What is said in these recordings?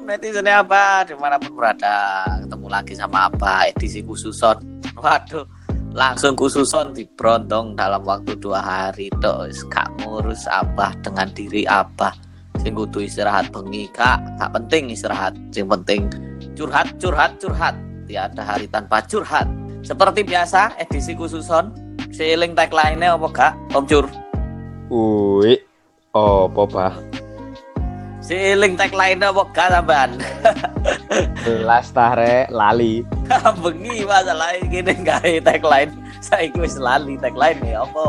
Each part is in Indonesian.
netizennya apa dimanapun berada, ketemu lagi sama apa edisi khususon. Waduh, langsung khususon dibrondong dalam waktu 2 hari tok, gak ngurus apa dengan diri apa. Sing kudu istirahat bengi gak penting istirahat, sing penting curhat. Tiada hari tanpa curhat. Seperti biasa edisi khususon, seiling tagline-nya apa gak, Om Cur? Apa bah? Seiling tagline-nya apa gak sampean? Las tare lali. Bengi masalah gini gawe tagline. Saiki wis lali tagline ya apa?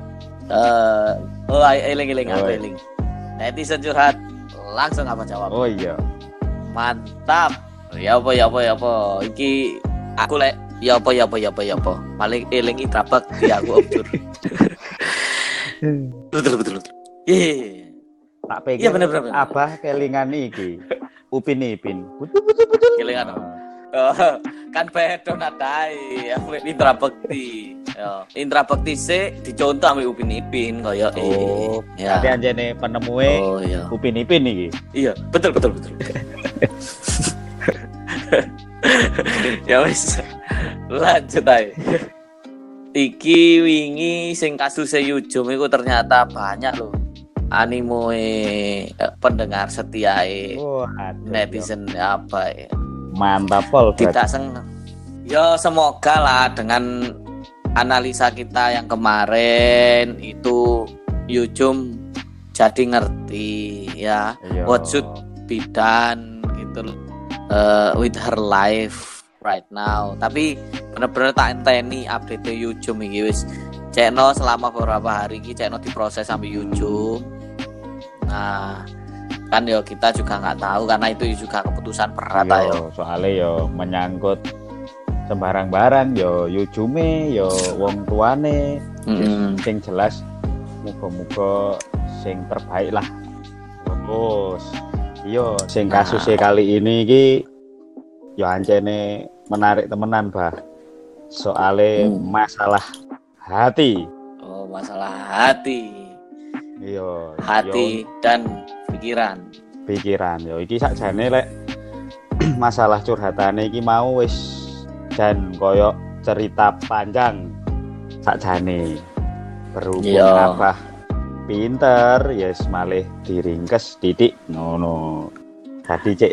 Eling. Netizen curhat langsung apa jawab? Oh iya. Mantap. Ya apa. Iki aku lek ya apa. Paling elingi trabak di aku Om Cur. Betul. Tak pikir. Iya bener. Abah kelingan iki. Upin Ipin. Kelingan. Kan bedo nadai. Indra Bekti. Ya, Indra Bekti sik dicontoh ambek Upin Ipin kaya ya. Tapi anjene penemue Upin Ipin iki. Iya, betul. Ya wis. Lanjut ae. Iki wingi sing kasus Yujum iku ternyata banyak loh animo pendengar setiae netizen apa ya. Mantap pol. Tidak seneng. Ya semoga lah dengan analisa kita yang kemarin itu Yujum jadi ngerti ya. What should be done gitu with her life right now. Tapi bener-bener tak enteni update Yujum iki wis Cekno selama beberapa hari ini Cekno diproses sampai Yujum. Nah kan yo kita juga nggak tahu karena itu juga keputusan berat yo. Soalnya yo menyangkut sembarang barang yo Yujume yo wong tuane. Sing jelas muga-muga sing terbaik lah. Terus yo sing kasusnya kali ini iki yo ancene menarik temenan bah. Soalnya masalah hati. Oh, masalah hati. Iya, hati dan pikiran. Yo iki sakjane lek masalah curhatane iki mau wis jan koyo cerita panjang sakjane. Berhubung Abah pinter, yes malih diringkes titik ngono. Tadi cek.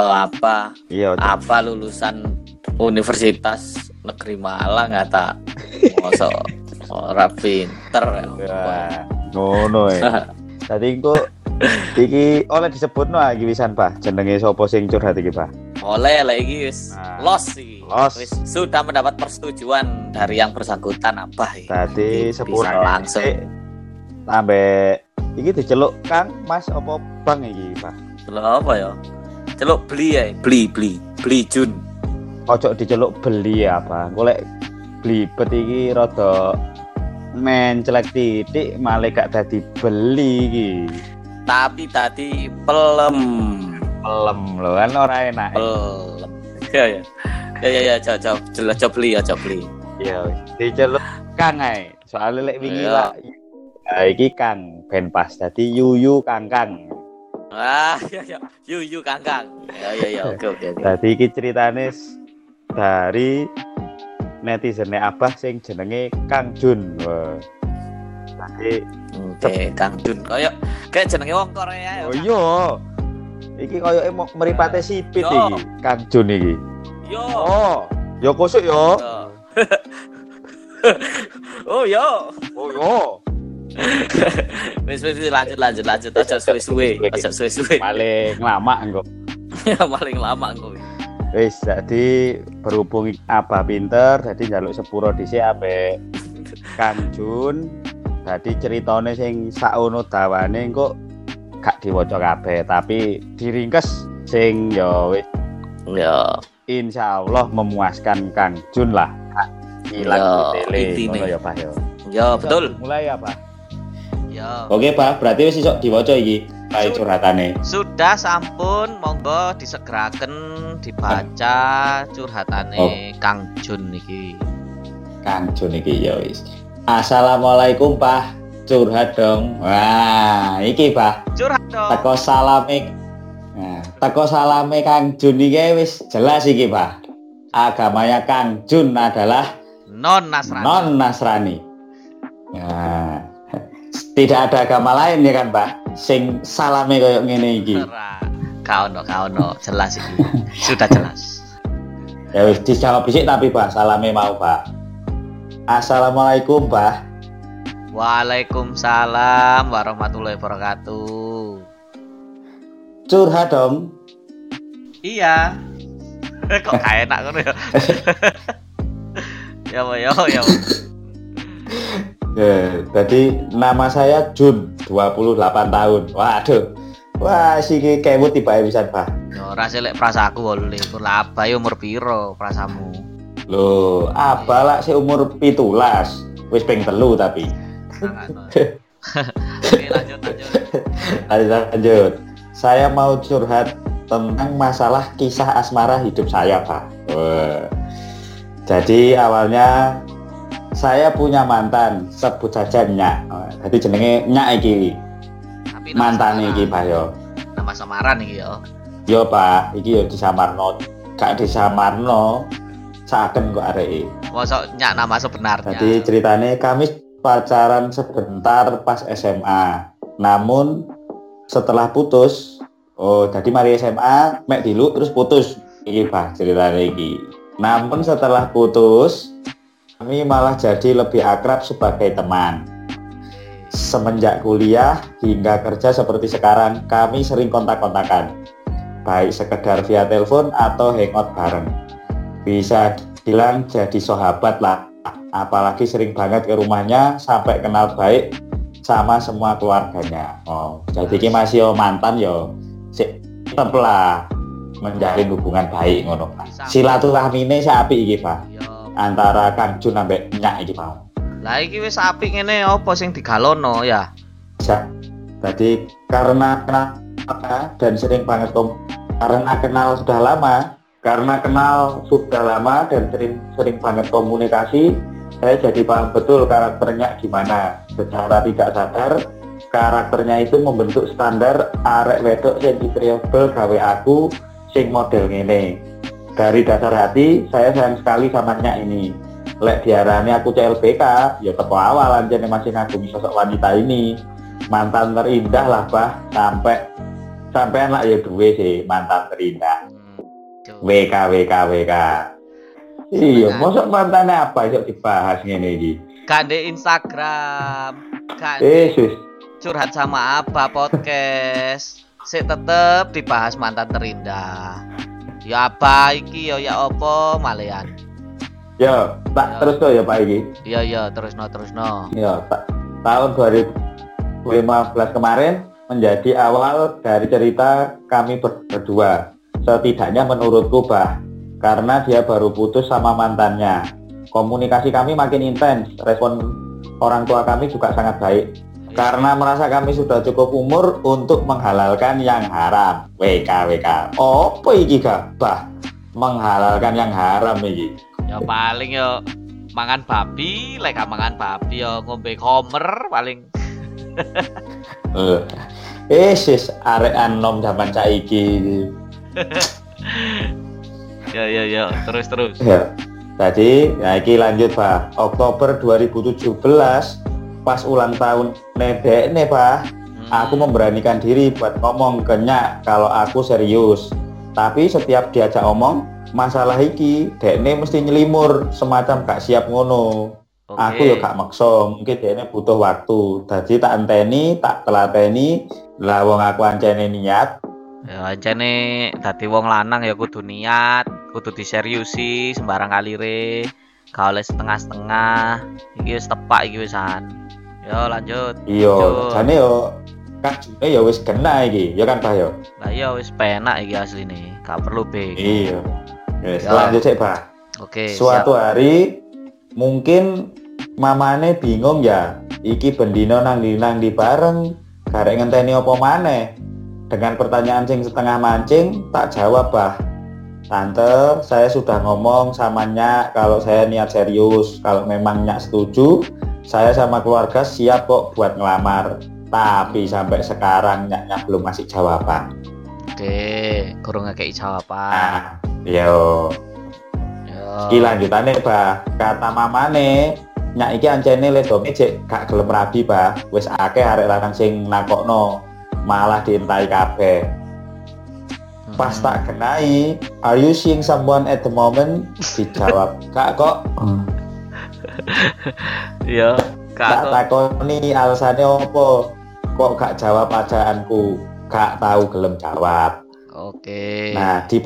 Yo apa lulusan Universitas Negeri Malang tak mosok ora pinter ya. Ngono ya. Tadi kok iki oleh disebutno iki wisan Pak, jenenge sapa sing curhat iki Pak? Oleh iki wis los iki. Wis sudah mendapat persetujuan dari yang bersangkutan apa iki. Tadi sepura langsung. Sampai iki diceluk Kang Mas apa Bang iki Pak? Celuk apa ya? Celuk beli Jun. Ojo diceluk beli apa? Golek blibet iki rada mencelek titik malah gak dadi beli iki. Tapi tadi pelem lho kan ora enak. Pelem. Ya coba beli. Ya wis diceluk Kang ae. Soale lek wingi lah. Iki Kang ben pas dadi Yuyu Kangkang. Ya. Yuyu Kangkang. Ya. Oke. Dadi iki ceritane dari netizene Abah sing jenenge Kang Jun. Wah. Kang Jun kayak jenenge wong Korea ya. Oh iya. Iki koyoke mripate sipit iki, Kang Jun iki. Yo. Oh, yo kosuk yo. Oh yo. Wis lanjut aja suwe-suwe. Paling lama engko. Paling lama engko. Wis jadi berhubung Abah pinter jadi njaluk sepuro dhisik ape Kang Jun. Dadi ceritane sing saono dawane engko gak diwaca kabeh tapi diringkes sing ya wis ya insyaallah memuaskan Kang Jun lah. Ilang tele ngono ya Pak ya. Ya betul. Mulai ya Pak. Ya. Oke Pak, berarti wis iso diwaca iki kae curhatane. Sudah sampun, monggo disegeraken dibaca curhatane Kang Jun iki. Kang Jun iki ya wis. Assalamualaikum Pak, curhat dong. Wah, iki Pak. Curhat dong. Teko salame Nah, teko salame Kang Jun iki wis jelas iki, Pak. Agamanya Kang Jun adalah non-Nasrani. Nah, tidak ada agama lain ya kan, Pak? Sing salame koyo ngene iki. Kau no, jelas iki. Sudah jelas. Ya wis dijawab sik tapi, Pak, salame mau, Pak. Assalamualaikum, Pak. Waalaikumsalam warahmatullahi wabarakatuh. Curhat dong. Iya. Kok gak enak ngono ya. Ya. Jadi nama saya Jun, 28 tahun. Waduh. Wah, siki kewut tibae pisan, Pak. Yo ora selek prasaku lho, lah abahe umur piro prasamu? Loh, abalak sih umur 17. Wis ping 3 tapi. Oke, lanjut. Saya mau curhat tentang masalah kisah asmara hidup saya, Pak. Jadi awalnya saya punya mantan, sebut saja Nyak. Jadi jenenge Nyak iki. Mantan iki, Pak yo. Nama samaran iki yo. Yo, Pak, iki yo disamarno. Gak disamarno. Saken kok areke. Mosok Nyak nama sebenarnya. Jadi ceritanya kami pacaran sebentar pas SMA. Namun setelah putus, jadi mari SMA mek dilu terus putus. Iki Pak ceritanya iki. Namun setelah putus, kami malah jadi lebih akrab sebagai teman. Semenjak kuliah hingga kerja seperti sekarang, kami sering kontak-kontakan. Baik sekedar via telepon atau hangout bareng. Bisa bilang jadi sahabat lah. Apalagi sering banget ke rumahnya sampai kenal baik sama semua keluarganya. Jadi ini masih mantan yo. Tetep lah menjalin hubungan baik ngono. Silaturahmine apik iki, Pak. Antara Kang Jun ambek Nyak iki, Pak. Lah iki wis apik ngene apa sing digalono ya? Jadi karena kenal dan sering banget karena kenal sudah lama dan sering banget komunikasi, saya jadi paham betul karakternya gimana. Secara tidak sadar, karakternya itu membentuk standar arek wedok sing diterobel gawe aku sing model ngene. Dari dasar hati, saya sayang sekali sama Nyak ini. Lek diarani aku CLBK, ya teko awal anjene masih ngagumi sosok wanita ini. Mantan terindah lah, Bah. Sampai anak ya duwe sih mantan terindah. WK. Iya, mosok mantane apa iso dibahas ngene iki? Kande Instagram. Curhat sama apa podcast. Sik tetep dibahas mantan terindah. Ya apa iki ya apa malean. Ya, tak terus to ya Pak iki. Iya, terusno. Ya, tahun 2015 kemarin menjadi awal dari cerita kami berdua. Setidaknya menurutku, Bah, karena dia baru putus sama mantannya. Komunikasi kami makin intens, respon orang tua kami juga sangat baik. Karena merasa kami sudah cukup umur untuk menghalalkan yang haram. WK. Apa iki, Bah? Menghalalkan yang haram iki. Ya paling yo mangan babi, lek mangan babi yo ngombe komer paling. Sis arek anom zaman saiki. Ya, terus. Ya. Jadi, iki lanjut, Pak. Oktober 2017 pas ulang tahun nedekne, Pak. Aku memberanikan diri buat ngomong ke Nyak kalau aku serius. Tapi setiap diajak omong masalah iki, dekne mesti nyelimur semacam gak siap ngono. Aku ya gak maksa, mungkin dekne butuh waktu. Jadi tak enteni, tak telateni, lah wong aku ancene niat. Ya ancene dadi wong lanang ya kudu niat, kudu diseriusi sembarang kalire. Gak oleh setengah-setengah. Iki wis tepak iki wisan. Yo lanjut. Iya, jane yo kajune ya wis kena iki, ya kan Pak yo. Lah iya wis penak iki asline, gak perlu bego. Iya. Wis lanjut sik, Pak. Oke. Suatu hari mungkin mamane bingung ya, iki bendino nang di bareng, garek ngenteni apa maneh. Dengan pertanyaan sing setengah mancing, tak jawab, Bah. Tante, saya sudah ngomong sama Nyak kalau saya niat serius. Kalau memang Nyak setuju, saya sama keluarga siap kok buat ngelamar. Tapi sampai sekarang Nyaknya belum ngasih jawaban. Dek, kurang ngekei jawaban. Nah, yo. Iki lanjutane, Bah. Kata mamane, nyak iki ancene ledome cek gak gelem rabi, Bah. Wis akeh arek lanang sing nakokno, malah dientai kabeh. Pas tak kenai, are you seeing someone at the moment? Dijawab, Kak kok. Iya, Kak takoni alasannya opo? Kok gak jawab ajaanku? Gak tahu gelem jawab. Oke. Nah, di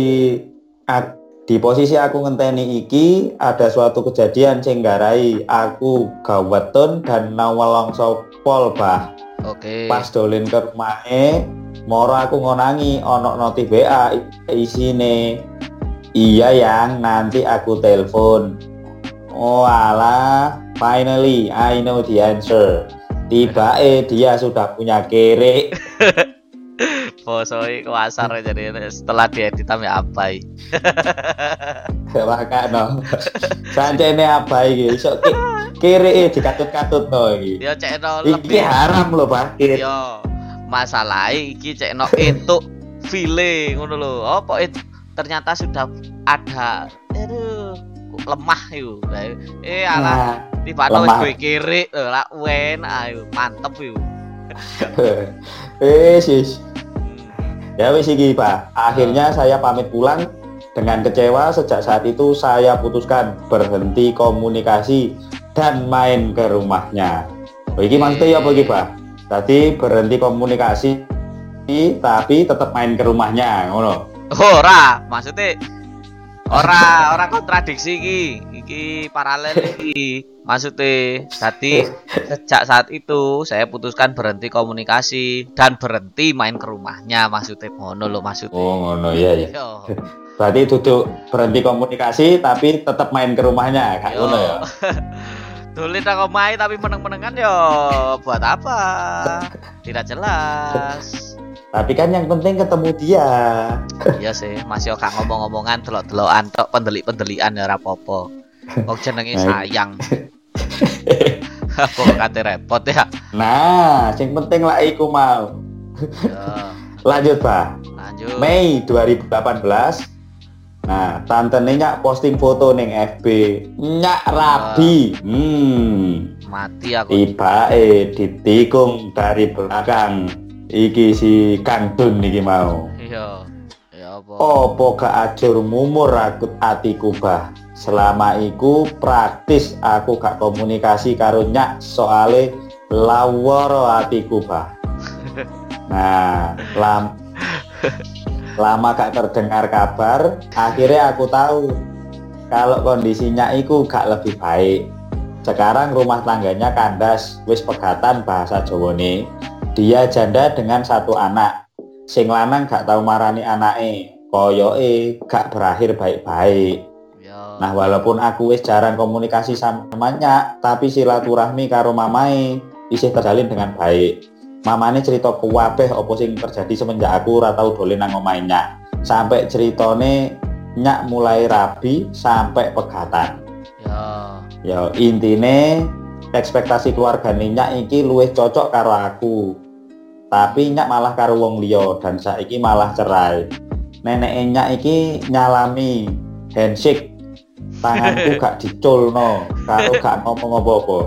posisi aku ngenteni iki ada suatu kejadian sing nggarai aku gawetun dan nawalongso pol, Bah. Oke. Pas dolen ke rumahe, moro aku ngonangi ono notif WA isine, iya yang nanti aku telepon. Oh alah, finally I know the answer. Tiba dia sudah punya kere. Bosoi kuasar jadi setelah diedit sampe abai. Makano. Sancene abai iki iso kere dikatut-katutno iki. Ya cekno Iki lebih haram lho, Pak. Yo, masalahe iki cekno entuk file ngono lho. Apa ternyata sudah ada lemah yo. Alah tiba-tiba wis kowe kiri lah ayo mantep yo. Sis. Ya wis iki, Pak. Akhirnya saya pamit pulang dengan kecewa. Sejak saat itu saya putuskan berhenti komunikasi dan main ke rumahnya. Iki maksudnya apa iki, Pak? Tadi berhenti komunikasi tapi tetap main ke rumahnya, ngono. Ora, maksudnya ora kontradiksi iki paralel iki. Maksudnya tadi sejak saat itu saya putuskan berhenti komunikasi dan berhenti main ke rumahnya, maksudnya ngono lho maksudnya. Oh ngono iya. Berarti duduk berhenti komunikasi tapi tetap main ke rumahnya, kayak ngono ya. Tulis nang omahe tapi meneng-menengan yo buat apa? Tidak jelas. Tapi kan yang penting ketemu dia. Iya sih, masih gak ngomong-ngomongan, delok-delokan tok, pendelik-pendelikan ya ora apa-apa. Kok jenenge sayang. Kok kate repot ya. Nah, yang penting lah iku mau. Lanjut, Pak. Lanjut. Mei 2018. Nah, tante Nyak posting foto ning FB. Nyak rabi. Mati aku. Tibae ditikung dari belakang. Iki si Kang Dun iki mau. Iya. Ya apa? Opo gak ajur mumur rakut atiku, Bah. Selama iku praktis aku gak komunikasi karo Nyak soale laworo atiku, Bah. Nah, lama gak terdengar kabar, akhirnya aku tahu kalau kondisinya iku gak lebih baik. Sekarang rumah tangganya kandas, wis pegatan bahasa Jawane. Dia janda dengan 1 anak. Sing lanang gak tahu marani anake, koyoke gak berakhir baik-baik. Nah, walaupun aku wis jarang komunikasi sama Nyak, tapi silaturahmi karo mamae isih terjalin dengan baik. Mamane cerita kuwabeh apa sing terjadi semenjak aku ora tau dolen nang omahe Nyak. Sampai ceritane Nyak mulai rabi sampai pegatan. Ya intine ekspektasi keluargane Nyak iki luwih cocok karo aku. Tapi Nyak malah karo wong liya dan saiki malah cerai. Neneke Nyak iki nyalami handshake. Tanganku gak diculno, karo gak ngomong apa-apa.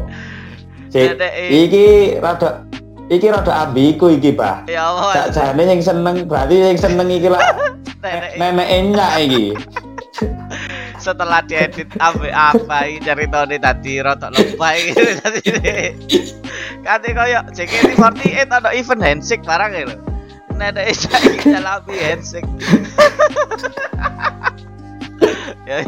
Iki rada ambiku iki, Bah. Ya Allah. Sakjane sing seneng, berarti sing seneng iki lah neneke Nyak iki. Setelah diedit ambek apa iki ceritane tadi rotok lebay gitu tadi. Kate koyo JKT48 ada event handshake barang ya lho. Neneke saiki nyalami handshake. Ya.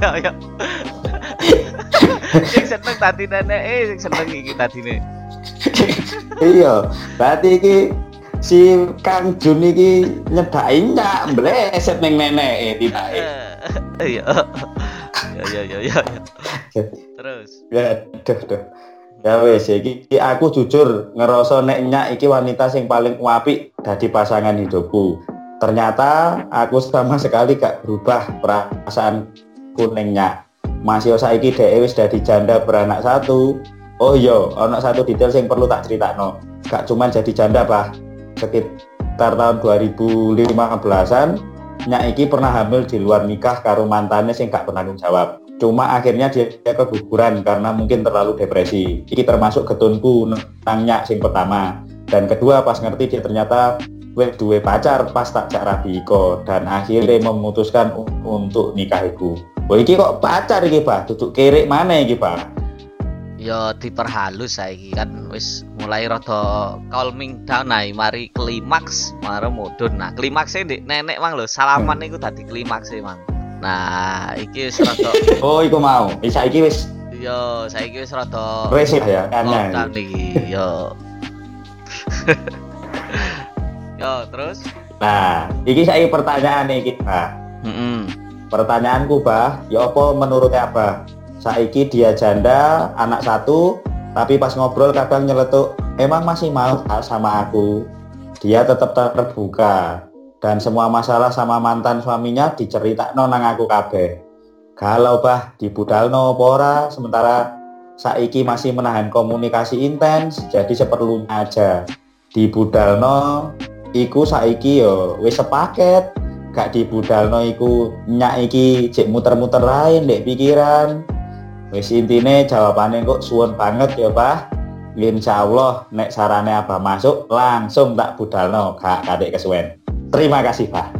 Sing seneng tadi nenek, sing seneng iki tadine. Iya, berarti iki si Kang Jun iki nyedaki Nyak mbleset ning nenek tibake. Iya. Ya. Terus. Ya, duh. Ya wis iki aku jujur ngerasa nek Nyak iki wanita sing paling apik dadi pasangan hidupku. Ternyata aku sama sekali gak berubah perasaan kuning Nyak. Masih saiki dhek wis dadi janda beranak 1. Oh iya, ana satu detail sing perlu tak critakno. Gak cuman jadi janda, Pak. sekitar tahun 2015-an nyak iki pernah hamil di luar nikah karo mantane sing gak bertanggung jawab. Cuma akhirnya dia keguguran karena mungkin terlalu depresi. Iki termasuk ketunku nang nyak sing pertama. Dan kedua pas ngerti dia ternyata duwe pacar pas tak jak rabi iko dan akhirnya memutuskan untuk nikah iku. Wah iki kok pacar iki, Pak? Duduk kerek mana iki, Pak? Ya diperhalus saiki kan wis mulai rada calming down nah, mari klimaks, mari mudhun. Nah, klimaksnya ndek nenek mang lho, salaman niku dadi klimaks mang. Nah, iki wis rada oh, iku mau. Saiki wis yo, saiki wis rada resik ya, karena iki yo. Yo, terus? Nah, iki saiki pertanyaan iki, Pak. Pertanyaanku, Bah, ya apa menurutnya Abah? Saiki dia janda, anak satu, tapi pas ngobrol kadang nyeletuk, emang masih mau sama aku. Dia tetap terbuka dan semua masalah sama mantan suaminya diceritakno nang aku kabeh. Galau, Bah, dibudalno apa ora, sementara saiki masih menahan komunikasi intens, jadi seperlunya aja. Dibudalno iku saiki yo wis sepaket. Gak dibudalno iku nyak iki jek muter-muter lain ndek pikiran. Wis intine jawabane kok suwun banget ya, Pak. Insyaallah nek sarane Abah masuk langsung tak budalno, gak kadek kesuwen. Terima kasih, Pak.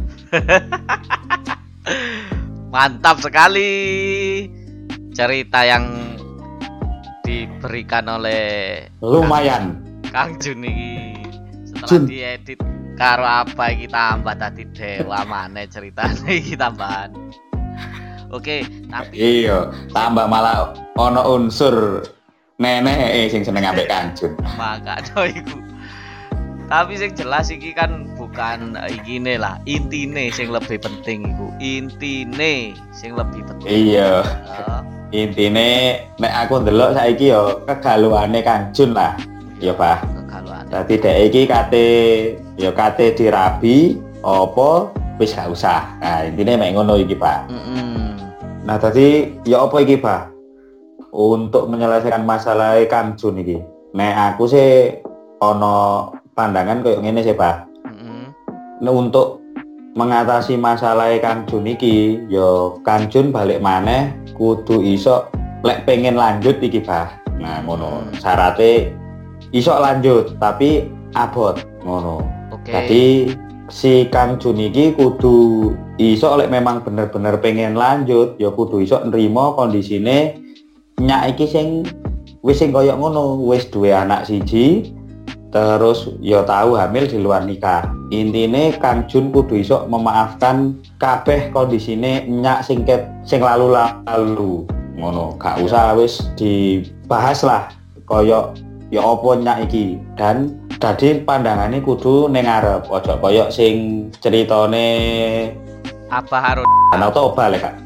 Mantap sekali cerita yang diberikan oleh lumayan Kang Jun iki. Setelah diedit karo apa iki tambah tadi dewa maneh ceritane iki tambahan. Oke, tapi iya, tambah malah ono unsur nenek sing seneng ambek Kang Jun. Makane iku. Tapi sing jelas iki kan bukan ikine lah, intine sing lebih penting iku. Intine sing lebih penting. Iya. Intine nek aku ndelok saiki yo kegaluane Kang Jun lah. Ya, Pak. Dadi dek iki kate dirabi apa wis gak usah. Nah, intine mek ngono iki, Pak. Nah, tadi ya apa iki, Pak? Untuk menyelesaikan masalah Kang Jun iki. Nek aku sih ono pandangan koyo ngene sih, Pak. Nah, untuk mengatasi masalah Kang Jun iki, ya Kang Jun balik maneh kudu iso lek pengen lanjut iki, Pak. Nah, ngono. Syaratnya iso lanjut tapi abot ngono. Jadi si Kang Jun iki kudu iso lek memang bener-bener pengen lanjut ya kudu iso nrimo kondisine nyak iki sing wis sing koyo ngono, wis duwe anak siji terus ya tahu hamil di luar nikah. Intine Kang Jun kudu iso memaafkan kabeh kondisine nyak sing lalu-lalu ngono. Gak usah wis dibahas lah koyo ya apa nyak iki dan dadi pandangane kudu ning ngarep ojo koyo sing ceritane apa harus Danau Toba lek Kak.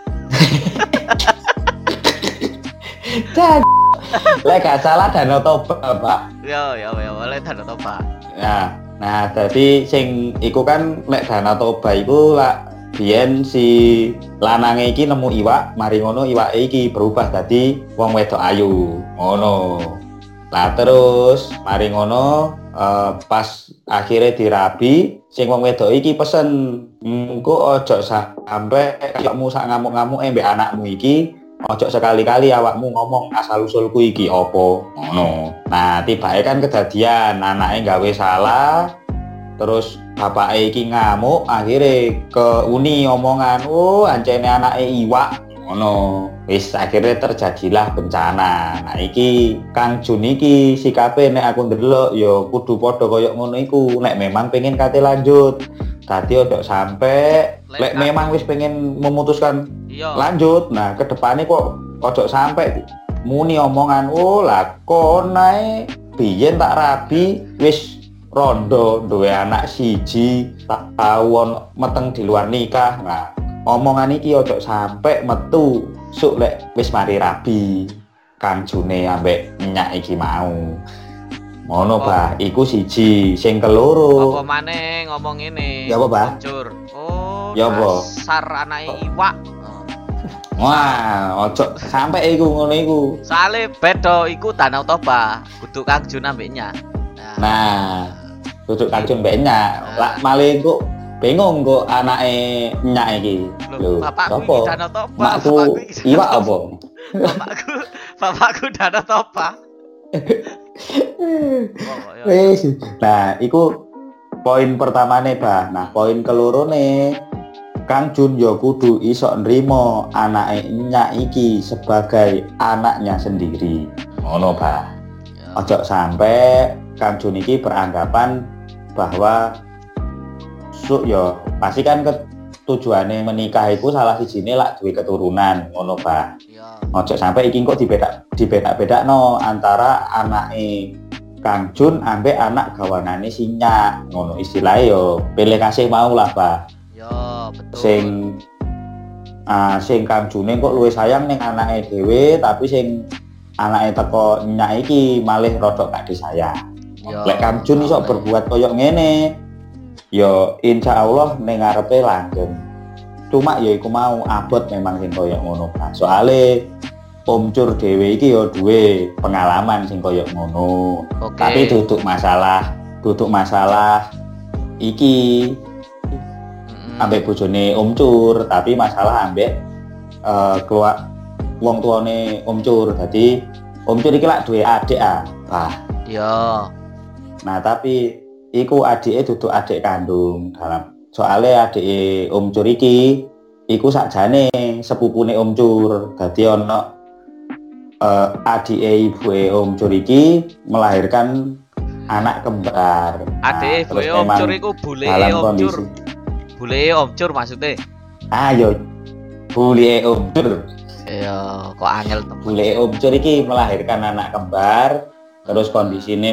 Lek gak salah Danau Toba, Pak. Ya oleh Danau Toba. Nah dadi sing iku kan lek Danau Toba iku lak biyen si lanange iki nemu iwak, mari ngono iwake iki berubah dadi wong wedok ayu. Ngono. Lah terus mari ngono pas akhirnya dirabi sing wong wedok iki pesen engko ojo sampe kakakmu sak ngamuk-ngamuk mbek anakmu iki ojo sekali-kali awakmu ngomong asal usulku iki opo ngono. Nah tibake kan kedadian anake gawe salah terus bapake iki ngamuk akhirnya ke uni omongan ancene anake iwak ngono. Wis akhirnya terjadilah bencana. Nah iki Kang Jun iki sikape nek aku ndelok ya kudu padha koyo ngono iku nek memang pengen kate lanjut. Dadi ojo sampe lek memang wis pengen memutuskan lanjut. Nah kedepane kok ojo sampe muni omongan lah kon nae biyen tak rabi wis rondo duwe anak siji tak tawon meteng di luar nikah. Nah omongan iki ojo sampe metu suk lek wis mari rabi Kang June ambek nyak iki mau. Ngono, Bah. Iku siji, sing keloro. Apa maneh ngomong ngene? Ya apa, Bah? Hancur. Ya apa? Dasar anake iwak. Wah, ojo sampe iku ngono iku. Soale beda iku Danau Toba, kudu Kang Jun ambek nyak. Nah, duduk Kangjun mbek nyak. Lah malah kok bingung kok anake nyak iki. Lho, bapakku iki Danau Toba. Makku iwak apa? Bapakku Danau Toba. Wis. Nah, iku poin pertamane, Bah. Nah, poin kelorone Kang Jun ya kudu iso nrimo anake nyak iki sebagai anaknya sendiri. Ngono, Bah. Ojo sampai Kang Jun iki beranggapan bahwa ya pasti kan tujuane menikah itu salah sijine lak duwe keturunan, ngono, Bah. Ojo sampai iki kok dibedak-bedakno antara anake Kang Jun ambek anak gawanane si nyak, ngono istilahnya yo pilih kasih mau lah, Bah. Ya, betul. Sing Kang June kok luwih sayang ning anake dhewe, tapi sing anake teko nyak iki malih rodok gak disayang. Lek Kang Jun iso berbuat koyo ngene, ya insyaallah ning ngarepe langgeng. Cuma ya iku mau abot memang sing koyo ngono, Pak. Soale Om Cur dhewe iki ya duwe pengalaman sing koyo ngono. Tapi duduk masalah iki ambek bojone Om Cur, tapi masalah ambek keluar wong tuane Om Cur. Dadi Om Cur iki lak duwe adik Pak. Iya. Nah, tapi iku adike duduk adik kandung dalam. Soale adike Om Cur iki iku sakjane sepupune Om Cur. Dadi ana adike ibuke Om Cur iki melahirkan anak kembar. Adike ibuke Om Cur iku buleke Om Cur. Buleke Om Cur maksudnya? Ayo. Buleke Om Cur. Iya, kok angel temen. Buleke Om Cur iki melahirkan anak kembar, terus kondisine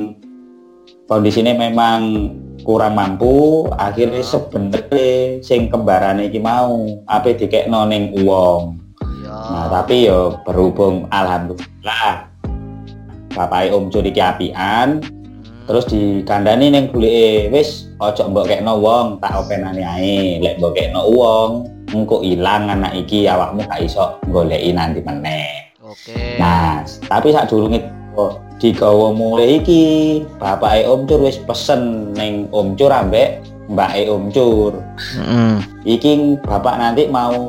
memang kurang mampu, akhirnya sebenarnya sing kembarane iki mau ape dikekno ning wong. Nah, tapi yo berhubung alhamdulillah bapake Om Cur iki apian, terus dikandani ning buleke, wis ojo mbok kekno wong, tak openane ae. Lek mbok kekno wong, engko ilang anak iki awakmu gak iso goleki nanti meneh. Oke. Nah, tapi sadurunge digawa mulai iki, bapake Om Cur wis pesen ning Om Cur ambek mbake Om Cur. Iki bapak nanti mau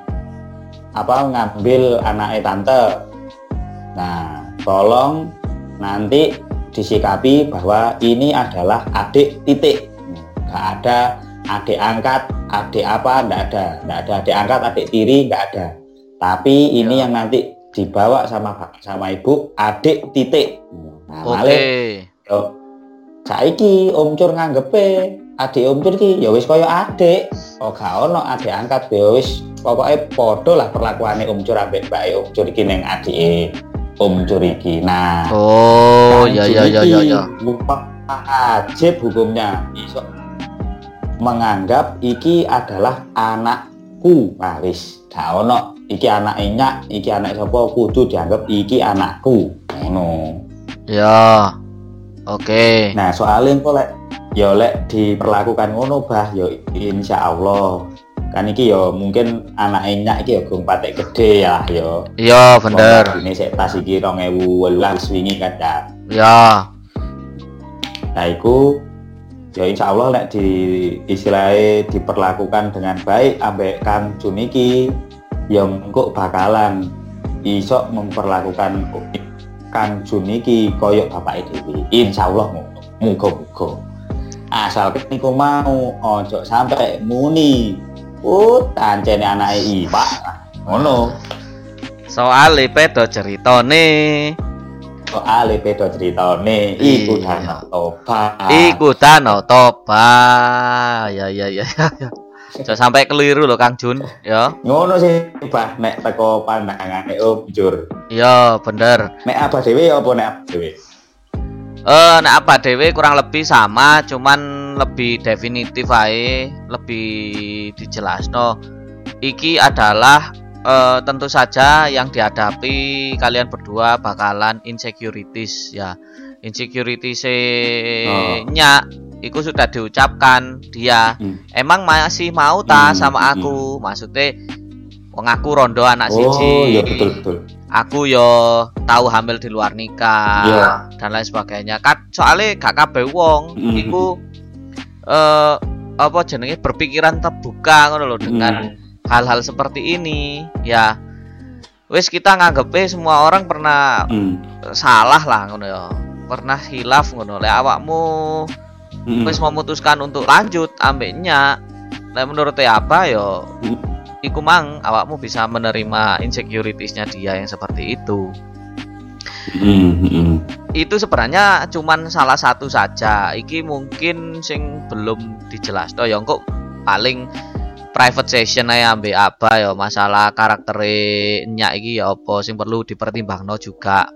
ngambil anake tante. Nah, tolong nanti disikapi bahwa ini adalah adik titik. Gak ada adik angkat, adik apa, nggak ada adik angkat, adik tiri, nggak ada. Tapi ini yang nanti dibawa sama ibu, adik titik. Nah, Oke. Yo saiki Om Cur nganggepe adik Om Cur iki ya wis kaya adik. Kok gak ono adik angkat ya wis pokoke padha lah perlakuane Om Cur ambek mbake Om Cur iki ning adike Om Cur iki. Nah, ya. Wajib hukumnya iso menganggap iki adalah anakku. Nah, wis gak ono iki anake nyak, iki anak sapa, kudu dianggap iki anakku. Ngono. Ya. Oke. Nah, soalnya kok lek diperlakukan ngono, Bah, ya insyaallah. Kan iki ya mungkin anake nyak iki ya gong patek gede ya. Iya, bener. Ini sik tas iki 2018 wingi kan ya. Ya. Nah, iku ya insyaallah lek istilahnya diperlakukan dengan baik ambek Kang Jun iki, ya engko bakalan iso memperlakukan Kang Jun iki koyo bapake dhewe. Insyaallah ngono. Muga-muga. Asal niku mau ojo sampai muni. Tancene anake iwak. Ngono. Soale pedo ceritane. Iku Danau Toba. Ya. Jangan sampai keliru loh Kang Jun, ya. Ngono sih, Bah, nek teko pandangane Om Cur. Iya, bener. Nek apa dhewe apa nek apa dhewe? Nek apa dhewe kurang lebih sama, cuman lebih definitif ae, lebih dijelasno. Iki adalah tentu saja yang dihadapi kalian berdua bakalan insecurities ya. Insecurities-nya itu sudah diucapkan dia. Emang masih mau ta sama aku? Maksudnya wong aku rondo anak siji. Iya betul. aku yo tahu hamil di luar nikah dan lain sebagainya. Kan soalnya gak kabeh wong iku apa jenenge berpikiran terbuka ngono lho dengan hal-hal seperti ini. Ya wis kita nganggepe semua orang pernah salah lah ngono ya. Pernah hilaf ngono. Lek awakmu wis memutuskan untuk lanjut ambeknya, lek menurut apa yo iku mang awakmu bisa menerima insecurities-nya dia yang seperti itu. Itu sebenarnya cuman salah satu saja. Iki mungkin sing belum dijelasno ya kok paling private session ae ambek apa ya masalah karaktere nyak iki ya apa sing perlu dipertimbangno juga.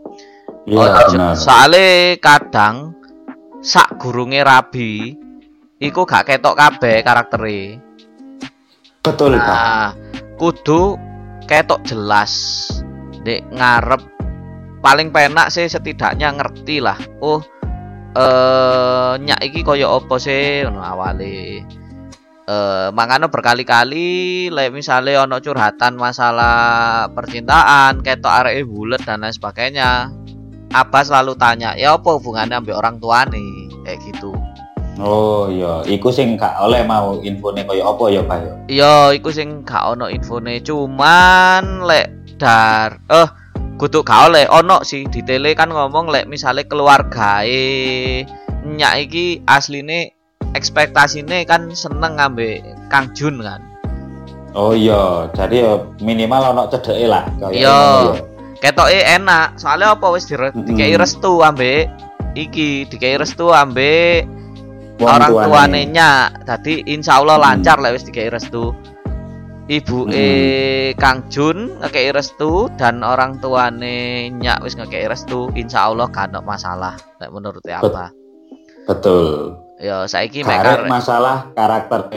Soale kadang sak gurunge rabi iku gak ketok kabeh karaktere. Betul, Pak. Kudu ketok jelas. Ndek ngarep paling penak sih setidaknya ngerti lah. Oh, nyak iki koyo apa sih ngono awale. Mangano berkali-kali lek misale ono curhatan masalah percintaan, ketok areke bulet dan lain sebagainya. Abah selalu tanya, "Ya apa hubungannya ambek orang tua nih?" Kayak gitu. Oh iya, iku sing gak oleh mau infone koyo apa ya, Pak ya? Iya, iku sing gak ono infone, cuman lek kudu gak oleh ono sih di tele kan ngomong lek misale keluargae nyak iki asline ekspektasine kan seneng ngambek Kang Jun kan. Oh iya, jadi ya minimal ono cedeke lah kaya iya. Ketoke enak, soalnya apa wis dikei restu ambek iki, dikei restu ambek orang tuane nyak. Dadi insyaallah lancar lek wis dikei restu. Ibuke Kang Jun ngekei restu dan orang tuane nyak wis ngekei restu, insyaallah gak ono masalah lek menurut apa. Betul. Ya saiki mek masalah karakter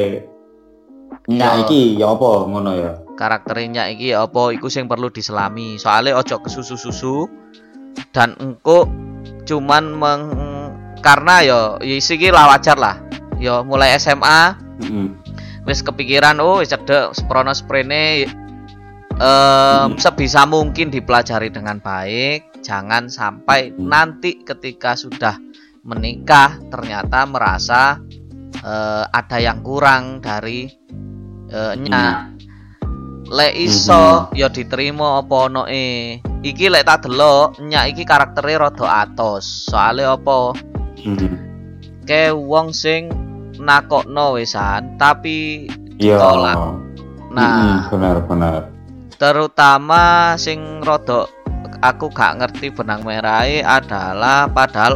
nyak iki ya apa ngono ya. Karakternya iki ya apa iku sing perlu diselami. Soalnya ojo kesusu-susu dan engko cuman karena ya iki lah wajar lah. Ya mulai SMA wis kepikiran wis cedek sprono sprene sebisa mungkin dipelajari dengan baik, jangan sampai nanti ketika sudah menikah ternyata merasa ada yang kurang dari nyak. Lek iso ya diterima apa onoe. Iki lek tak delok nyak iki karaktere rada atos. Soale apa? Ke wong sing nakokno wisan tapi ditolak. Nah, benar. Terutama sing rada aku gak ngerti benang merahe adalah padahal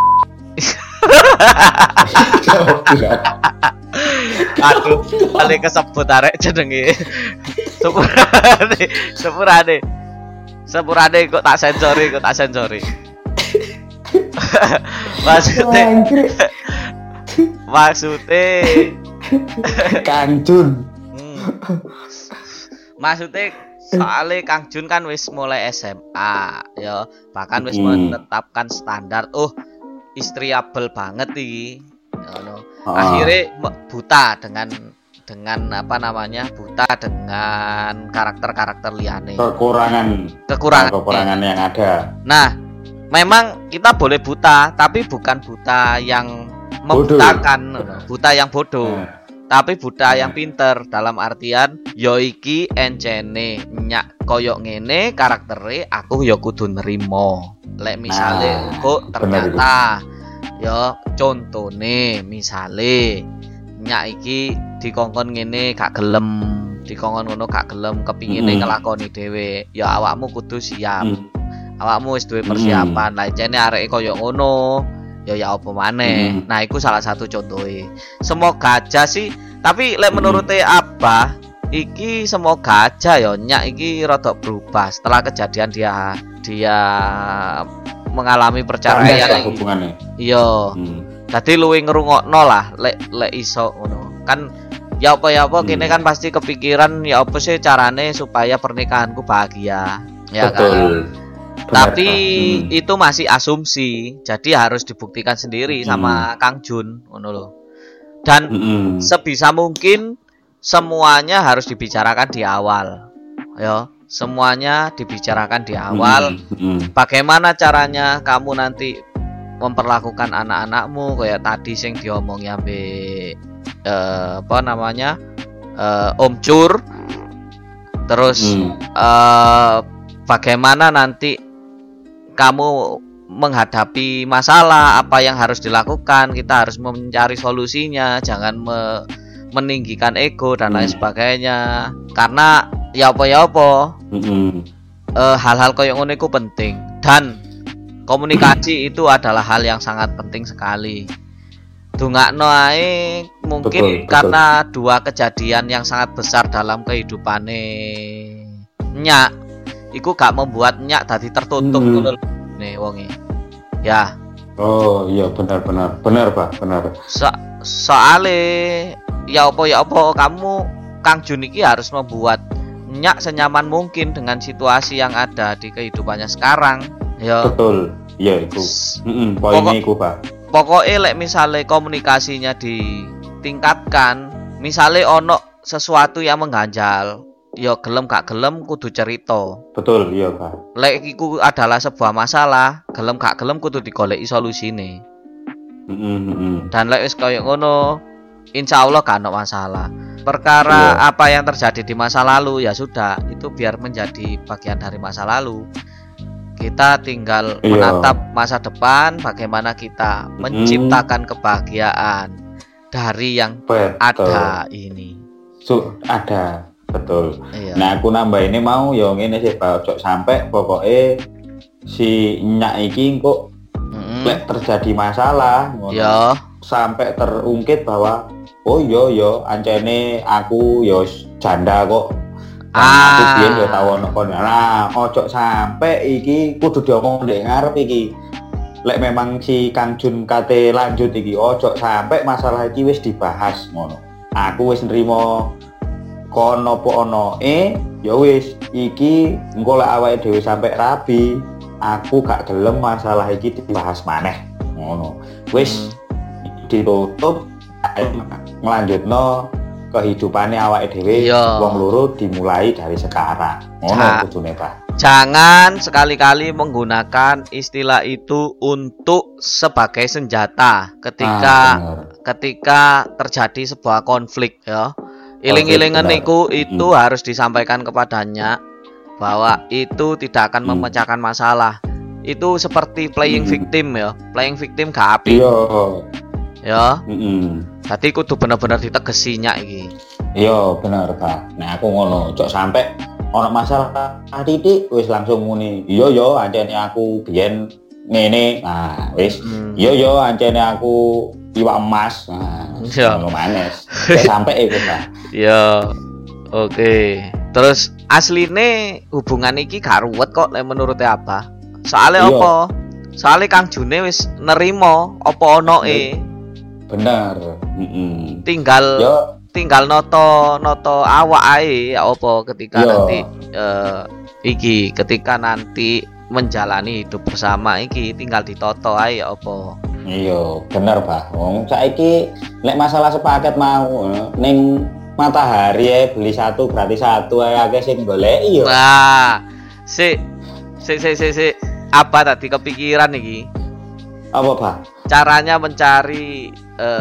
aduh, paling kesebut arek jenenge. Sepurane kok tak sensori. Maksudnya Kang Jun. Maksudnya soalnya Kang Jun kan wis mulai SMA ya, bahkan wis menetapkan standar istriable banget iki. Akhirnya buta dengan apa namanya, buta dengan karakter liane, kekurangan yang ada. Nah, memang kita boleh buta, tapi bukan buta yang membutakan, buta yang bodoh, tapi buta yang pinter. Dalam artian yo iki encene nyak koyok ngene karaktere, aku yo kudu nerimo. Lek misale kok ternyata yo contone misale nyak iki dikongkon ngene gak gelem, dikongkon ngono gak gelem, kepingine ngelakoni dhewe, ya awakmu kudu siap. Awakmu wis duwe persiapan. Lah jane areke koyo ngono, ya apa maneh. Nah, iku salah satu contohe. Semoga aja sih, tapi lek menurut Abah iki semoga aja ya nyak iki rada berubah setelah kejadian dia mengalami perceraian hubungannya. Iya. Dadi luwih ngrungokno lah lek iso ngono. Kan ya apa kene kan pasti kepikiran ya apa sih carane supaya pernikahanku bahagia. Ya betul. Kan. Tapi itu masih asumsi. Jadi harus dibuktikan sendiri sama Kang Jun ngono lho. Dan sebisa mungkin semuanya harus dibicarakan di awal. Ya, semuanya dibicarakan di awal. Bagaimana caranya kamu nanti memperlakukan anak-anakmu kayak tadi sing diomongi ambek Om Cur. Terus bagaimana nanti kamu menghadapi masalah, apa yang harus dilakukan, kita harus mencari solusinya, jangan meninggikan ego dan lain sebagainya. Karena ya apa hal-hal kayak ngono itu penting, dan komunikasi itu adalah hal yang sangat penting sekali. Dungakno ae mungkin betul. Karena dua kejadian yang sangat besar dalam kehidupane Nyak, iku gak membuat Nyak dadi tertutup ngono nih wonge. Ya. Oh iya benar Pak, benar. Soale ya apa kamu Kang Jun iki harus membuat Nyak senyaman mungkin dengan situasi yang ada di kehidupannya sekarang. Ya. Betul. Iya itu. Poinnya iku, Pak. Pokoknya lek misalnya komunikasinya ditingkatkan, misalnya ono sesuatu yang mengganjal, ya gelem gak gelem kudu cerita. Betul, iya Pak. Lek iku adalah sebuah masalah, gelem gak gelem kudu digoleki solusine. Dan lek wis koyo ngono, insyaallah gak ono masalah. Perkara apa yang terjadi di masa lalu ya sudah, itu biar menjadi bagian dari masa lalu. Kita tinggal menatap masa depan, bagaimana kita menciptakan kebahagiaan dari yang ada ini. Ada, betul. Iya. Nah, aku nambah ini mau ya ngene sih, Pak, ojo sampai pokoknya si Nyak iki kok lek terjadi masalah, sampai terungkit bahwa oh yo ancene aku yo janda kok. Aku biyen yo tau ono kono. Nah, ojo sampe iki kudu diomong ndek ngarep iki. Lek memang si Kang Jun kate lanjut iki, ojo sampe masalah iki wis dibahas ngono. Aku wis nrimo kono po ono ya wis iki engko lek awake dhewe sampe rabi, aku gak gelem masalah iki dibahas maneh ngono. Wis ditutup ngelanjutno kehidupannya awake dhewe wong loro dimulai dari sekarang. Ngono kudune, Pak. Jangan sekali-kali menggunakan istilah itu untuk sebagai senjata ketika terjadi sebuah konflik ya. Iling-ilingan itu harus disampaikan kepadanya bahwa itu tidak akan memecahkan masalah. Itu seperti playing victim ya. Playing victim gak apik. Ya. Tadi kudu bener-bener ditegesi Nyak iki. Iya, bener, Pak. Nah, aku ngono, cok sampai ono masalah titik wis langsung muni. Iya, ancene aku biyen ngene. Nah, wis. Iya, ancene aku iwak emas. Nah, ngono manes. Sampai iku, Pak. Iya. Oke. Terus asline hubungan iki gak ruwet kok lek menurut apa? Soalnya apa? Soalnya Kang June wis nerimo apa onoe. Benar. Tinggal noto awak ae ya apa ketika nanti ketika nanti menjalani hidup bersama iki tinggal ditoto ae ya apa. Iya, bener, Pak. Wong saiki nek masalah sepaket mau ning Matahari beli satu gratis satu akeh sing goleki yo. Nah, si apa tadi kepikiran iki? Apa, Pak? Caranya mencari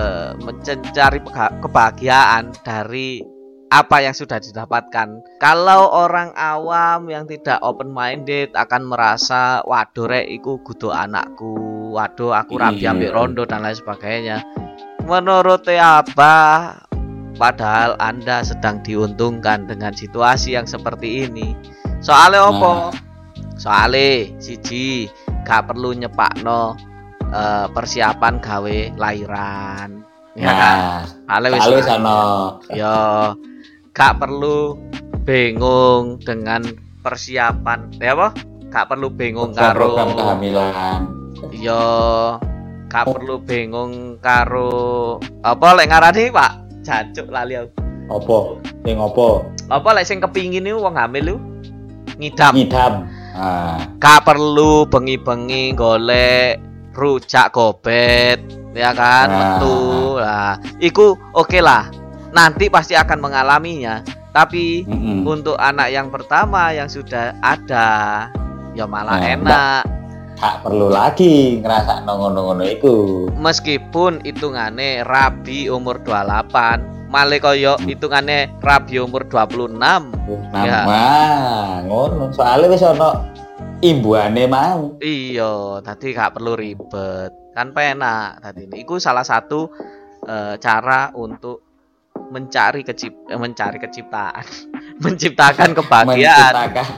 kebahagiaan dari apa yang sudah didapatkan. Kalau orang awam yang tidak open minded akan merasa waduh rek iku kudu anakku, waduh aku rabi ambek rondo dan lain sebagainya. Menurut apa? Padahal Anda sedang diuntungkan dengan situasi yang seperti ini. Soalnya apa? Soalnya siji gak perlu nyepakno persiapan gawe lahiran, ya kan? Wis ana. Ya, gak perlu bingung dengan persiapan, ya apa? Gak perlu bingung karo program kehamilan. Ya, gak perlu bingung karo apa lek ngarani, Pak? Jancuk lali aku. Apa? Sing apa? Apa lek sing kepingin niku wong hamil lu ngidam. Gak perlu bengi-bengi golek rujak gobet, ya kan? Metu lah. Iku oke lah. Nanti pasti akan mengalaminya. Tapi untuk anak yang pertama yang sudah ada ya malah enak. Tak perlu lagi ngerasa ngono-ngono iku. Meskipun hitungane rabi umur 28, malah koyo hitungane rabi umur 26. Ya. Ngono. Soalnya wis ono imbuane mau. Iya, tadi gak perlu ribet. Kan penak tadi. Iku salah satu cara untuk menciptakan kebahagiaan.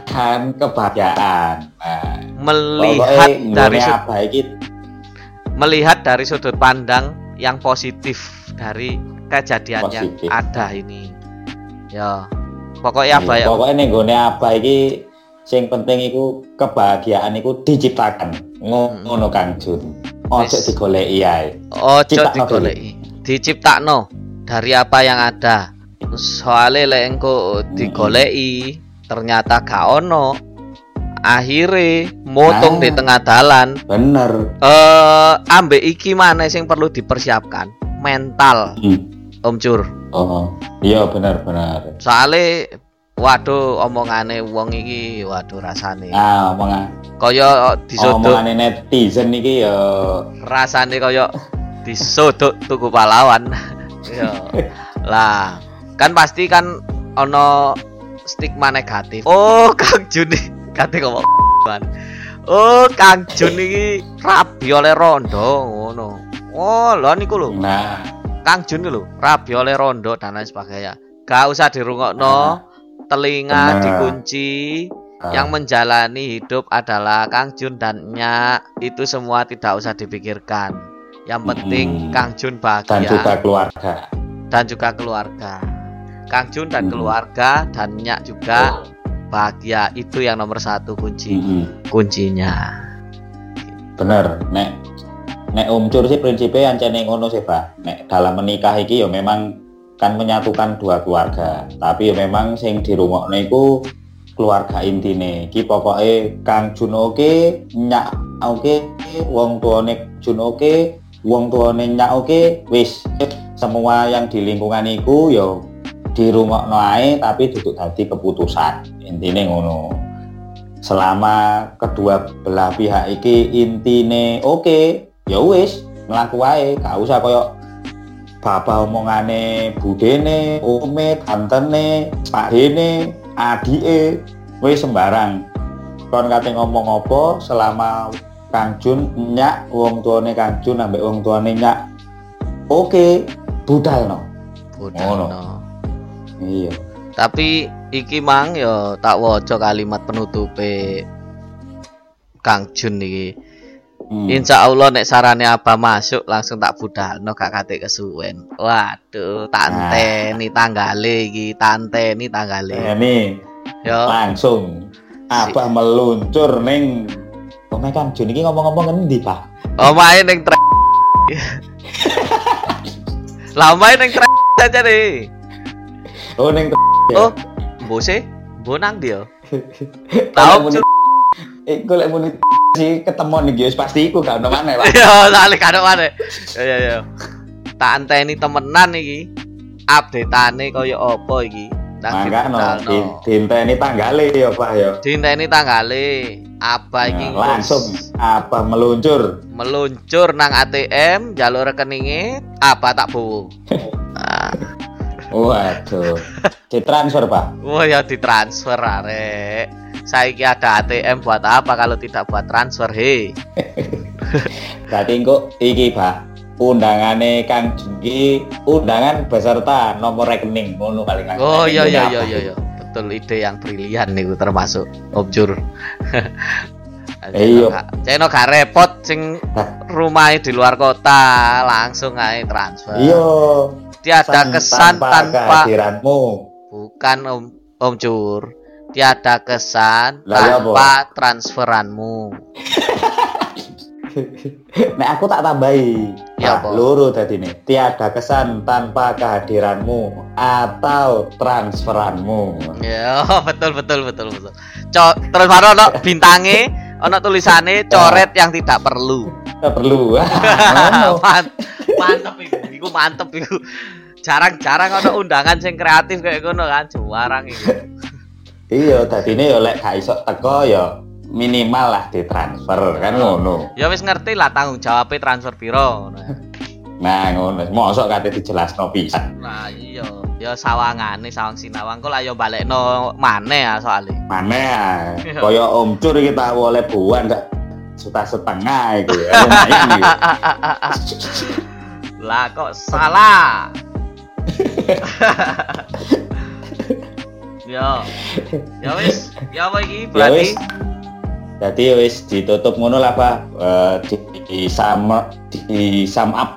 Melihat dari sudut pandang yang positif dari kejadian yang ada ini. Ya, pokoknya apa ya? Pokoknya ning gone apa iki sing penting iku kebahagiaan iku diciptakan. Ngono Kang Jun. Ojo digoleki ae. Ojo digoleki. Diciptakno dari apa yang ada. Soale lek engko digoleki ternyata gak ono, akhire motong di tengah dalan. Bener. Ambek iki maneh sing perlu dipersiapkan, mental. Om Cur. Oh, iya bener. Soale waduh omongane wong iki waduh rasane. Omongan. Kaya disodok omongane netizen iki ya rasane kaya disodok tuku pahlawan. Ya. Lah, kan pasti kan ono stigma negatif. Oh, Kang Jun kate ngomong. Oh, Kang Jun iki rabi oleh rondo ngono. Oh, lho niku lho. Nah, Kang Jun lho, rabi oleh rondo dan lain sebagainya. Gak usah dirungokno, telinga dikunci. Yang menjalani hidup adalah Kang Jun dan Nyak. Itu semua tidak usah dipikirkan. Yang penting Kang Jun bahagia dan juga keluarga. Kang Jun dan keluarga dan Nyak juga bahagia, itu yang nomor satu kuncinya. Bener, nek Om Cur sih prinsipnya ancene ngono sih Pak. Nek dalam menikah iki ya memang kan menyatukan dua keluarga, tapi ya memang sing dirungokno iku keluarga intine. Iki pokoke Kang Jun oke, Nyak oke, wong tuane Jun oke, wong tuane Nyak oke, wis semua yang di lingkungan iku yo dirungokno ae tapi duduk dadi keputusan. Intine ngono. Selama kedua belah pihak iki intine oke, ya wis mlaku ae, gak usah koyo bapak omongane budene, ome, tantene, pakdene, adike, wis sembarang. Kon kate ngomong apa selama Kang Jun Nyak wong tuane Kang Jun ambek wong tuane Nyak oke, budalno. Iya. Tapi iki mang yo tak waca kalimat penutupe Kang Jun iki. Insya Allah nek sarane apa masuk langsung tak budalno gak kate kesuwen. Waduh, tanteni tanggale iki, tanteni tanggale. Ini yo langsung apa meluncur ning omahe Kang Jun iki ngomong-ngomong ngendi, Pak? Omahe ning Lah omahe ning aja deh. Oh ning Oh, mbose, mbonang dia. Tahu iku lek muni si ketemu nih guys pasti iku gak ono maneh, Pak. Iya, lali gak ono maneh. Ya. Tak anteni temenan iki. Update-ane kaya apa iki? Dinteni tanggale ya, Pak ya. Dinteni tanggale. Apa iki? Langsung apa meluncur nang ATM, jalur rekeninge, apa tak bowo. Waduh. Ditransfer, Pak. Oh ya ditransfer arek. Saiki ada ATM buat apa kalau tidak buat transfer, he. Berarti kok iki, Pak. Undangane Kang Jun undangan beserta nomor rekening ngono kali kan. Oh iya. Betul, ide yang brilian niku termasuk Om Jur. Iya. Ceno gak repot sing rumahe di luar kota, langsung ae transfer. Iya. Tiada kesan tanpa kehadiranmu. Bukan Om Cur. Tiada kesan tanpa transferanmu. Nek aku tak tambahi. Ya, loro tadi nih. Tiada kesan tanpa kehadiranmu atau transferanmu. Ya, betul. Terus baru ono bintange, ono tulisane coret yang tidak perlu. Tidak perlu. Mantep iku. jarang-jarang ana undangan sing kreatif kayak ngono kan, juarang iki. Iya, dadine yo lek gak iso teko yo minimal lah ditransfer kan ngono. Ya wis ngerti lah tanggung jawabnya transfer piro ngono. Nah, ngono. Mosok kate dijelasno pisan. Nah, iya. Ya sawangane sawang sinawang kok lah ya balekno maneh ya soalé. Maneh ya. Kaya Om Cur iki tak oleh buan gak juta setengah iku. Lumayan iki. Lah kok salah. Yo. Ya wis, ya apa iki berarti? Jadi wis ditutup ngono lah, Pak. Di sum up.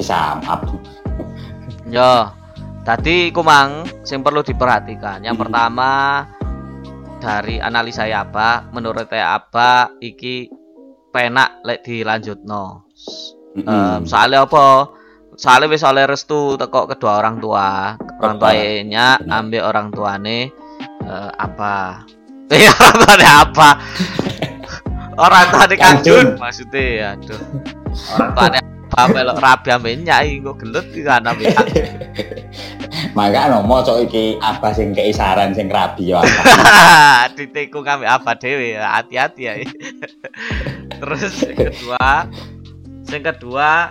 Yo. Tadi kumang yang perlu diperhatikan. Yang pertama dari analisa apa, menurut apa iki penak lek dilanjutno. Soalnya apa? Soalnya wis oleh restu teko kedua orang tua. Orang tuanya ambil orang tuane apa? Ya orang tuane apa? Orang tuane Kanjun maksudnya. Aduh. Orang tuane apa melok rabi ambek nyai kok gelut iki kan ambek. Maka nomor cok iki apa sing kei saran sing rabi yo apa. Ditekung ambek apa dhewe, hati-hati ya. Terus yang kedua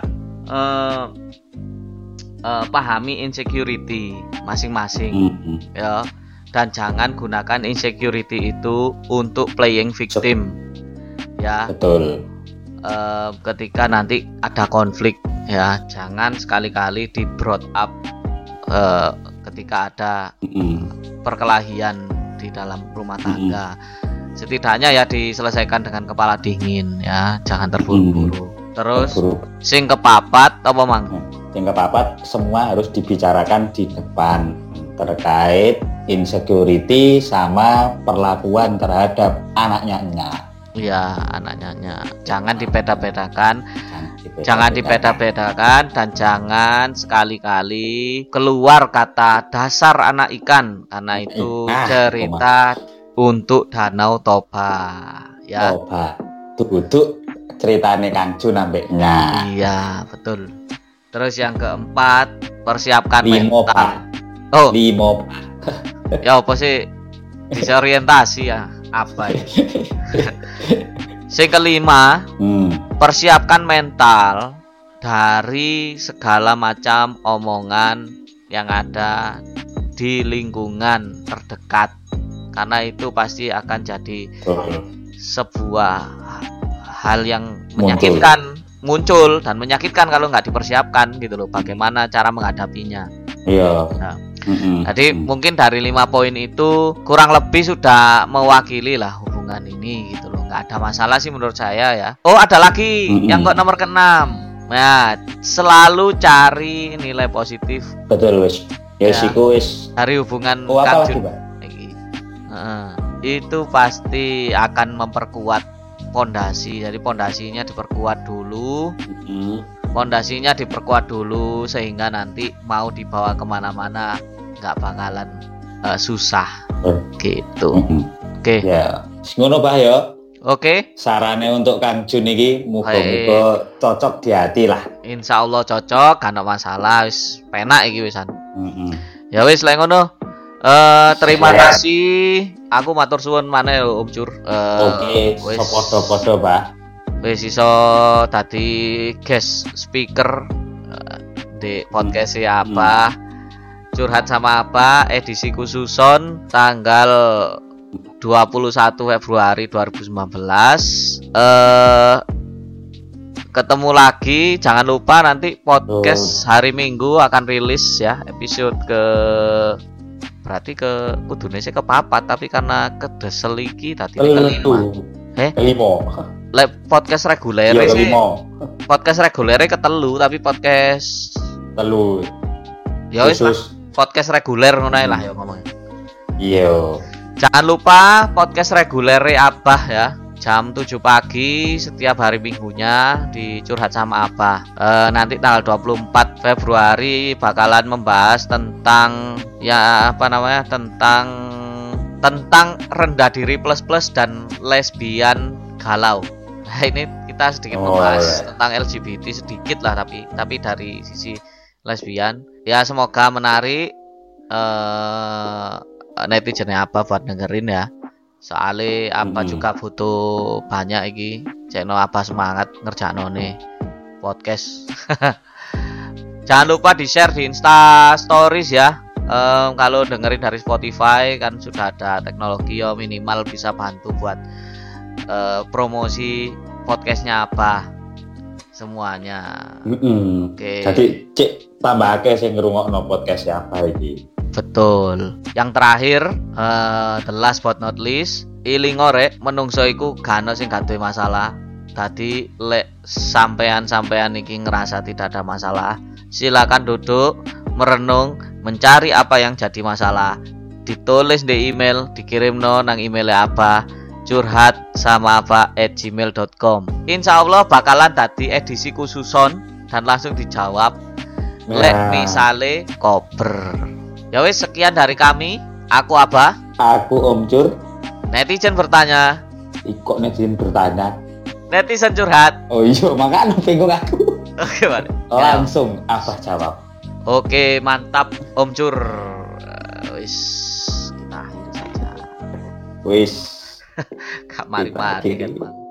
pahami insecurity masing-masing ya, dan jangan gunakan insecurity itu untuk playing victim ya. Betul. Ketika nanti ada konflik ya, jangan sekali-kali di brought up ketika ada perkelahian di dalam rumah tangga. Setidaknya ya diselesaikan dengan kepala dingin ya, jangan terburu-buru. Terus sing kepapat apa mang? Sing kepapat semua harus dibicarakan di depan terkait insecurity sama perlakuan terhadap anaknya. Iya, anaknya. Jangan dibeda-bedakan. Jangan dibeda-bedakan dan jangan sekali-kali keluar kata dasar anak ikan, karena itu cerita untuk Danau Toba ya. Toba. Tuh ceritane Kanjun ambeknya. Iya, betul. Terus yang keempat, persiapkan Limopa. mental. Oh, Limopa. Ya apa sih? Disorientasi ya. Apa ya? Yang kelima, persiapkan mental dari segala macam omongan yang ada di lingkungan terdekat, karena itu pasti akan jadi sebuah hal yang menyakitkan, muncul dan menyakitkan kalau nggak dipersiapkan gitu loh. Bagaimana cara menghadapinya? Iya. Nah, jadi mungkin dari 5 poin itu kurang lebih sudah mewakili lah hubungan ini gitu loh. Nggak ada masalah sih menurut saya ya. Oh, ada lagi yang kok nomor ke-6. Nah, selalu cari nilai positif. Betul wis. Ya siku wis dari hubungan Kanjun. Itu pasti akan memperkuat pondasi. Jadi pondasinya diperkuat dulu. Pondasinya diperkuat dulu sehingga nanti mau dibawa kemana-mana nggak bakalan susah gitu. Oke. Ya, ngono Pak ya. Oke. Sarane untuk Kanjun iki muga-muga cocok di hati lah. Insya Allah cocok, kan masalah, wis penak iki wisan. Ya wis lek ngono. Terima kasih. Aku matur suwun maneh Om Cur. Oke, podo-podo Pak. Wis iso tadi guest speaker di podcast apa? Curhat sama apa? Edisi khususon tanggal 21 Februari 2019. Ketemu lagi, jangan lupa nanti podcast hari Minggu akan rilis ya, episode berarti kudune sih kepapat, tapi karena kedeseliki tadi kelima. Podcast reguler sih. Podcast reguler ketelu, tapi podcast telu. Ya wis podcast reguler ngono lah ya ngomong. Iya. Jangan lupa podcast reguler Abah ya. Jam 7 pagi setiap hari minggunya di Curhat sama Abah. Nanti tanggal 24 Februari bakalan membahas tentang tentang rendah diri plus dan lesbian galau. Nah, ini kita sedikit membahas tentang LGBT sedikit lah, tapi dari sisi lesbian. Ya semoga menarik netizennya apa buat dengerin ya. Soalnya apa juga butuh banyak iki. Channel apa semangat ngerjakno nih podcast. Jangan lupa di-share di Insta Stories ya. Kalau dengerin dari Spotify kan sudah ada teknologi ya, minimal bisa bantu buat promosi podcastnya apa semuanya. Oke. Jadi cek tambah akeh sing ngrungokno podcast apa iki. Betul. Yang terakhir, the last but not least, ilingo rek menungso iku gak ono sing gak duwe masalah. Tadi lek sampean iki ngerasa tidak ada masalah, silakan duduk, merenung, mencari apa yang jadi masalah, ditulis di email, dikirim nang emailnya apa, curhat@gmail.com. Insya Allah bakalan tadi edisi khususon dan langsung dijawab. Lek misale kober. Ya wis, sekian dari kami. Aku Abah. Aku Om Cur. Netizen bertanya. Kok netizen bertanya? Netizen curhat. Oh iya, makanya bingung aku. Oke, Pak. Langsung Abah jawab. Oke, mantap Om Cur. Wis, kita akhiri saja. Wis. Kak mari-mari kan, Bang.